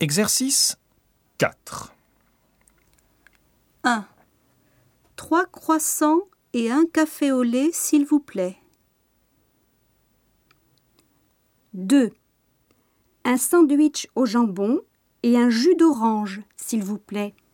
Exercice 4. 1. 3 croissants et un café au lait, s'il vous plaît. 2. Un sandwich au jambon et un jus d'orange, s'il vous plaît.